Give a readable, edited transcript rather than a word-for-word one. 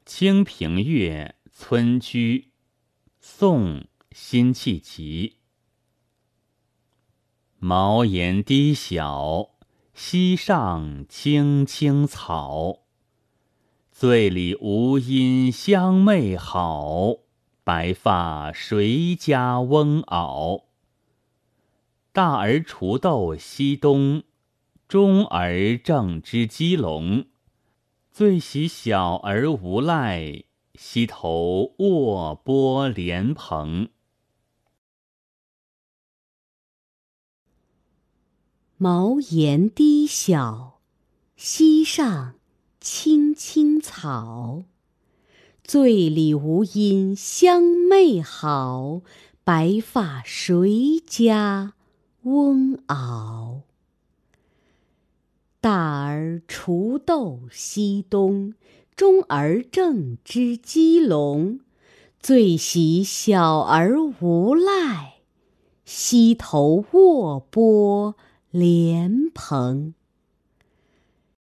清平乐·村居，宋·辛弃疾。茅檐低小，溪上青青草。醉里吴音相媚好，白发谁家翁媪？大儿锄豆溪东，中儿正织鸡笼。最喜小儿无赖，溪头卧剥莲蓬。 茅檐低小，溪上青青草。醉里吴音相媚好，白发谁家翁媪？大儿锄豆溪东，中儿正织鸡笼。最喜小儿无赖，溪头卧剥莲蓬。